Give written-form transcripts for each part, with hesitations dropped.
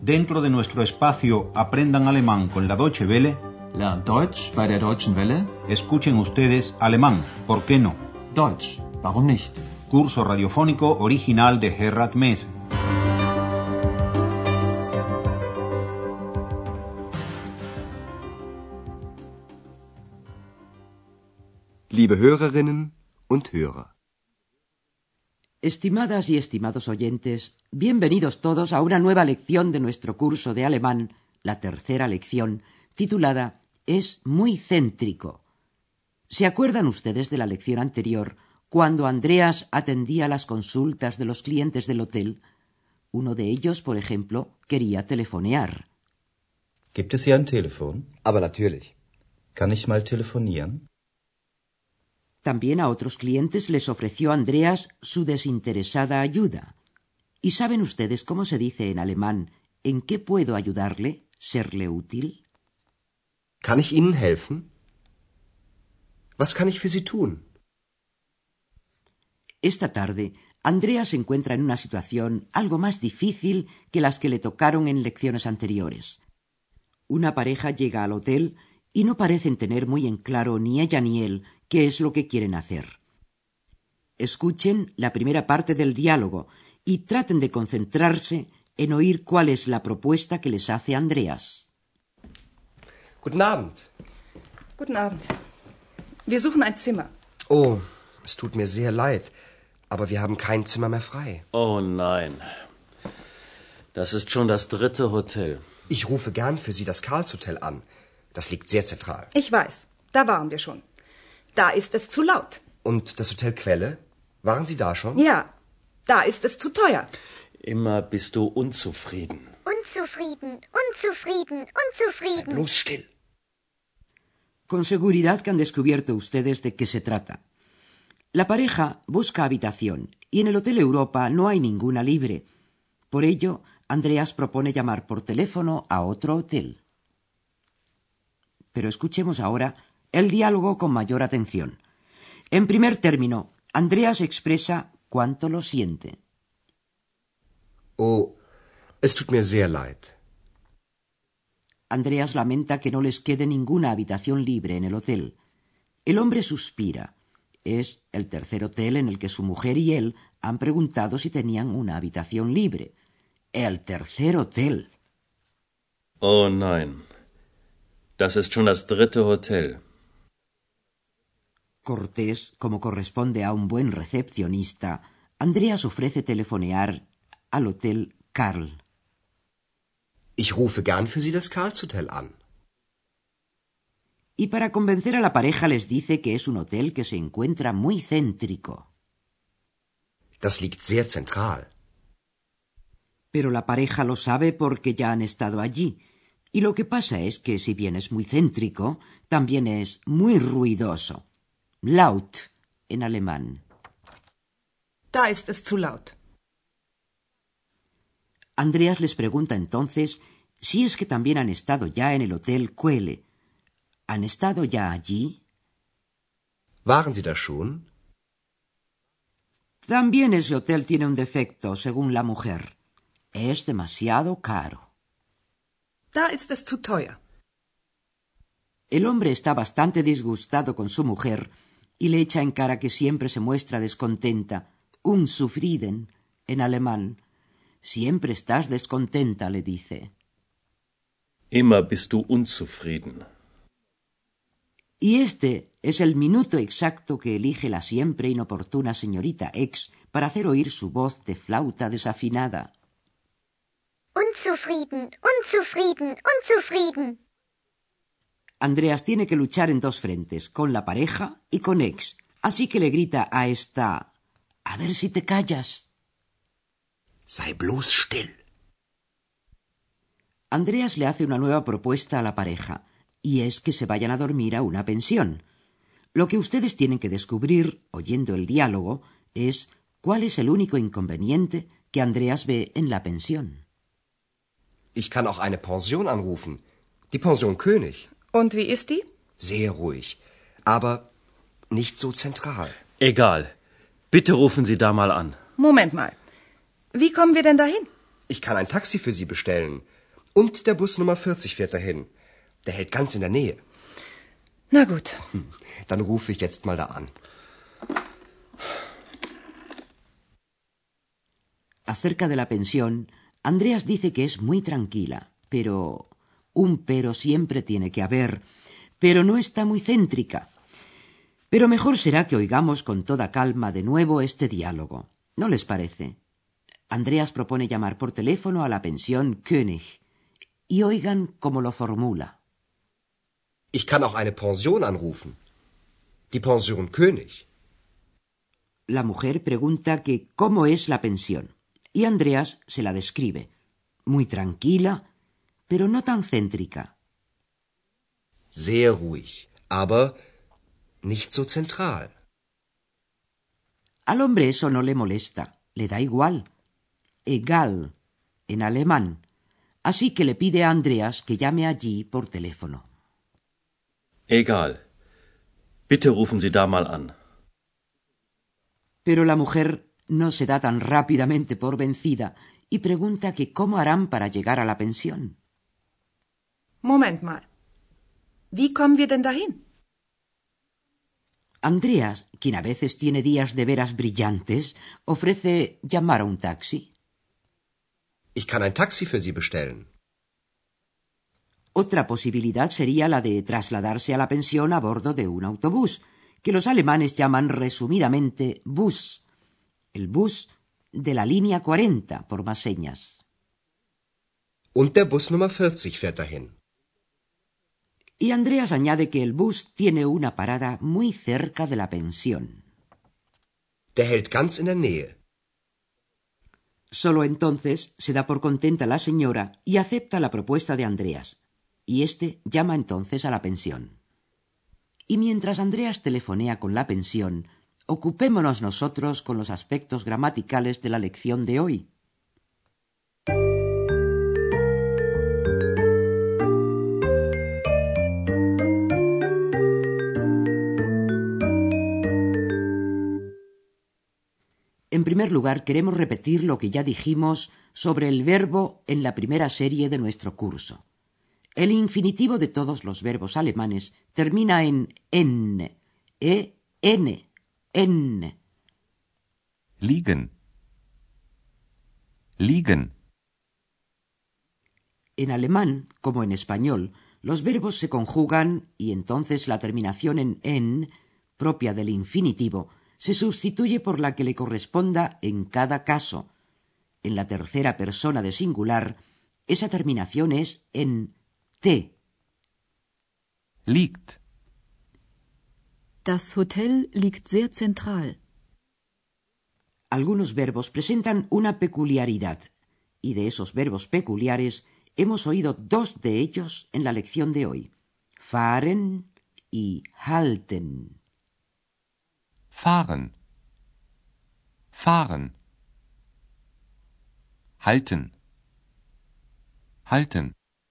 Dentro de nuestro espacio Aprendan Alemán con la Deutsche Welle, Lernt Deutsch bei der Deutschen Welle. escuchen ustedes alemán, ¿por qué no? Deutsch, warum nicht? Curso radiofónico original de Gerhard Mese. Liebe Hörerinnen und Hörer. Estimadas y estimados oyentes, bienvenidos todos a una nueva lección de nuestro curso de alemán, la tercera lección, titulada Es muy céntrico. ¿Se acuerdan ustedes de la lección anterior, cuando Andreas atendía las consultas de los clientes del hotel? Uno de ellos, por ejemplo, quería telefonear. Gibt es hier ein Telefon? Aber natürlich. Kann ich mal telefonieren? También a otros clientes les ofreció Andreas su desinteresada ayuda. ¿Y saben ustedes cómo se dice en alemán ¿en qué puedo ayudarle? ¿Serle útil? Kann ich Ihnen helfen? Was kann ich für Sie tun? Esta tarde, Andreas se encuentra en una situación algo más difícil que las que le tocaron en lecciones anteriores. Una pareja llega al hotel y no parecen tener muy en claro ni ella ni él qué es lo que quieren hacer. Escuchen la primera parte del diálogo y traten de concentrarse en oír cuál es la propuesta que les hace Andreas. Guten Abend. Guten Abend. Wir suchen ein Zimmer. Oh, es tut mir sehr leid, aber wir haben kein Zimmer mehr frei. Oh nein. Das ist schon das 3. Hotel. Ich rufe gern für Sie das Karlshotel an. Das liegt sehr zentral. Ich weiß, da waren wir schon. Da ist es zu laut. Und das Hotel Quelle? Waren Sie da schon? Ja, da ist es zu teuer. Immer bist du unzufrieden. Unzufrieden. Sei bloß still. Con seguridad que han descubierto ustedes de qué se trata. La pareja busca habitación y en el Hotel Europa no hay ninguna libre. Por ello, Andreas propone llamar por teléfono a otro hotel. Pero escuchemos ahora el diálogo con mayor atención. En primer término, Andreas expresa cuánto lo siente. Oh, es tut mir sehr leid. Andreas lamenta que no les quede ninguna habitación libre en el hotel. El hombre suspira. Es el tercer hotel en el que su mujer y él han preguntado si tenían una habitación libre. El tercer hotel. Oh nein. Das ist schon das 3. Hotel. Cortés, como corresponde a un buen recepcionista, Andreas ofrece telefonear al Hotel Karl. Ich rufe gern für Sie das Karlshotel an. Y para convencer a la pareja les dice que es un hotel que se encuentra muy céntrico. Das liegt sehr zentral. Pero la pareja lo sabe porque ya han estado allí. Y lo que pasa es que si bien es muy céntrico, también es muy ruidoso. Laut en alemán. Da ist es zu laut. Andreas les pregunta entonces si es que también han estado ya en el Hotel Quelle. ¿Han estado ya allí? Waren Sie da schon? También ese hotel tiene un defecto, según la mujer. Es demasiado caro. Da ist es zu teuer. El hombre está bastante disgustado con su mujer y le echa en cara que siempre se muestra descontenta. Unzufrieden, en alemán. Siempre estás descontenta, le dice. Immer bist du unzufrieden. Y este es el minuto exacto que elige la siempre inoportuna señorita X para hacer oír su voz de flauta desafinada. Unzufrieden. Andreas tiene que luchar en dos frentes, con la pareja y con X, así que le grita a esta: «A ver si te callas». Sei bloß still. Andreas le hace una nueva propuesta a la pareja, y es que se vayan a dormir a una pensión. Lo que ustedes tienen que descubrir, oyendo el diálogo, es cuál es el único inconveniente que Andreas ve en la pensión. Ich kann auch eine Pension anrufen. Die Pension König. Und wie ist die? Sehr ruhig, aber nicht so zentral. Egal. Bitte rufen Sie da mal an. Moment mal. Wie kommen wir denn dahin? Ich kann ein Taxi für Sie bestellen. Und der Bus Nummer 40 fährt dahin. Der hält ganz in der Nähe. Na gut. Dann rufe ich jetzt mal da an. Acerca de la pensión, Andreas dice que es muy tranquila, pero un pero siempre tiene que haber, pero no está muy céntrica. Pero mejor será que oigamos con toda calma de nuevo este diálogo. ¿No les parece? Andreas propone llamar por teléfono a la pensión König. Y oigan cómo lo formula. Ich kann auch eine Pension anrufen. Die Pension König. La mujer pregunta que cómo es la pensión. Y Andreas se la describe. Muy tranquila, pero no tan céntrica. Sehr ruhig, aber nicht so zentral. Al hombre eso no le molesta, le da igual. Egal, en alemán. Así que le pide a Andreas que llame allí por teléfono. Egal. Bitte rufen Sie da mal an. Pero la mujer no se da tan rápidamente por vencida y pregunta que cómo harán para llegar a la pensión. Moment mal. Wie kommen wir denn dahin? Andreas, quien a veces tiene días de veras brillantes, ofrece llamar a un taxi. Ich kann ein Taxi für Sie bestellen. Otra posibilidad sería la de trasladarse a la pensión a bordo de un autobús, que los alemanes llaman resumidamente Bus. El bus de la línea 40, por más señas. Und der Bus Nummer 40 fährt dahin. Y Andreas añade que el bus tiene una parada muy cerca de la pensión. Der hält ganz in der Nähe. Solo entonces se da por contenta la señora y acepta la propuesta de Andreas, y éste llama entonces a la pensión. Y mientras Andreas telefonea con la pensión, ocupémonos nosotros con los aspectos gramaticales de la lección de hoy. En primer lugar, queremos repetir lo que ya dijimos sobre el verbo en la primera serie de nuestro curso. El infinitivo de todos los verbos alemanes termina en n, en. Liegen. Liegen. En alemán, como en español, los verbos se conjugan y entonces la terminación en n, propia del infinitivo, se sustituye por la que le corresponda en cada caso. En la tercera persona de singular, esa terminación es en t. Liegt. Das Hotel liegt sehr zentral. Algunos verbos presentan una peculiaridad, y de esos verbos peculiares hemos oído dos de ellos en la lección de hoy: fahren y halten. Fahren. Fahren. Halten. Halten.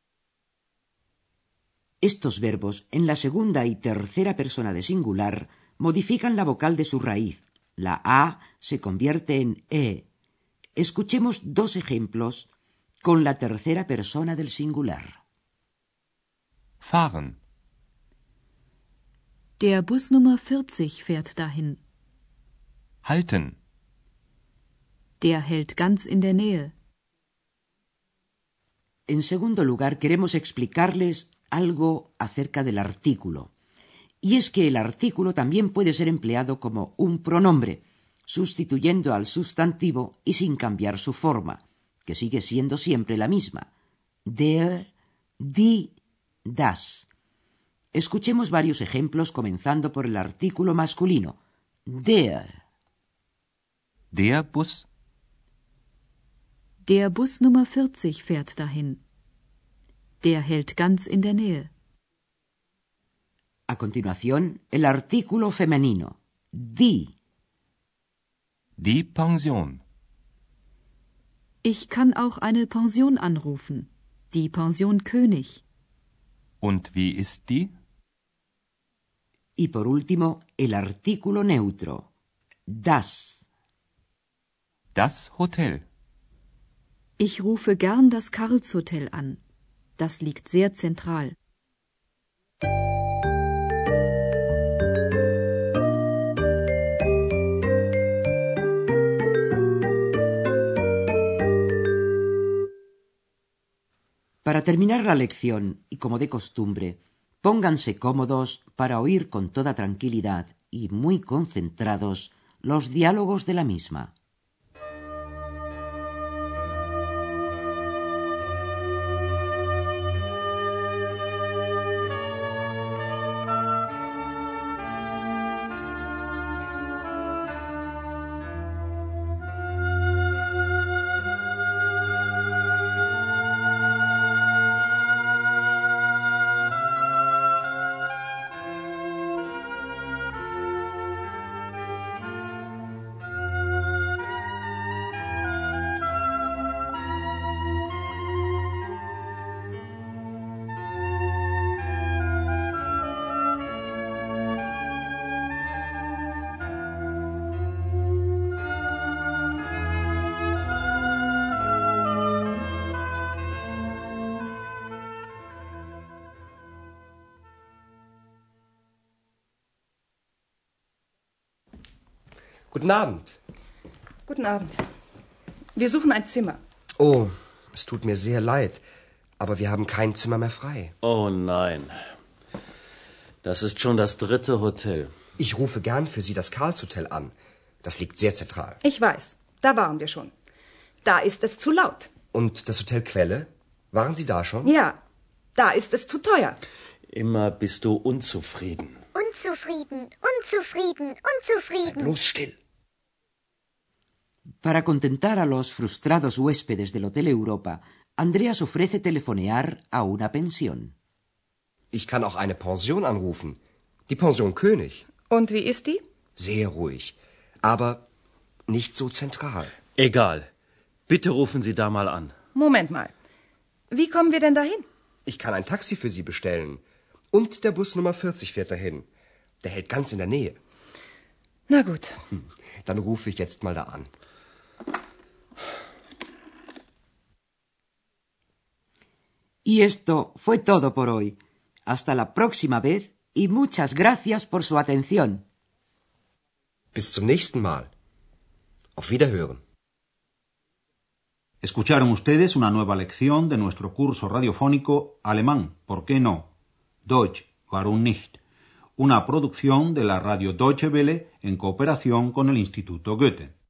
Estos verbos, en la segunda y tercera persona de singular, modifican la vocal de su raíz. La A se convierte en E. Escuchemos dos ejemplos con la tercera persona del singular. Fahren. Der Bus Nummer 40 fährt dahin. Halten. Der hält ganz in der Nähe. En segundo lugar, queremos explicarles algo acerca del artículo. Y es que el artículo también puede ser empleado como un pronombre, sustituyendo al sustantivo y sin cambiar su forma, que sigue siendo siempre la misma: der, die, das. Escuchemos varios ejemplos comenzando por el artículo masculino: der. Der Bus. Der Bus Nummer 40 fährt dahin. Der hält ganz in der Nähe. A continuación, el artículo femenino: die. Die Pension. Ich kann auch eine Pension anrufen. Die Pension König. Und wie ist die? Y por último, el artículo neutro: das. Das Hotel. Ich rufe gern das Karlshotel an. Das liegt sehr zentral. Para terminar la lección, y como de costumbre, pónganse cómodos para oír con toda tranquilidad y muy concentrados los diálogos de la misma. Guten Abend. Guten Abend. Wir suchen ein Zimmer. Oh, es tut mir sehr leid, aber wir haben kein Zimmer mehr frei. Oh nein. Das ist schon das 3. Hotel. Ich rufe gern für Sie das Karls-Hotel an. Das liegt sehr zentral. Ich weiß, da waren wir schon. Da ist es zu laut. Und das Hotel Quelle? Waren Sie da schon? Ja, da ist es zu teuer. Immer bist du unzufrieden. Unzufrieden, unzufrieden, unzufrieden. Sei bloß still. Para contentar a los frustrados huéspedes del Hotel Europa, Andreas ofrece telefonear a una pensión. Ich kann auch eine Pension anrufen. Die Pension König. Und wie ist die? Sehr ruhig, aber nicht so zentral. Egal. Bitte rufen Sie da mal an. Moment mal. Wie kommen wir denn dahin? Ich kann ein Taxi für Sie bestellen. Und der Bus Nummer 40 fährt dahin. Der hält ganz in der Nähe. Na gut. Dann rufe ich jetzt mal da an. Y esto fue todo por hoy. Hasta la próxima vez y muchas gracias por su atención. Bis zum nächsten Mal. Auf Wiederhören. Escucharon ustedes una nueva lección de nuestro curso radiofónico Alemán, ¿por qué no? Deutsch, warum nicht? Una producción de la radio Deutsche Welle en cooperación con el Instituto Goethe.